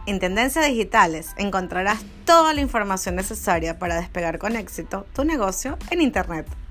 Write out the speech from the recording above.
En Tendencias Digitales encontrarás toda la información necesaria para despegar con éxito tu negocio en Internet.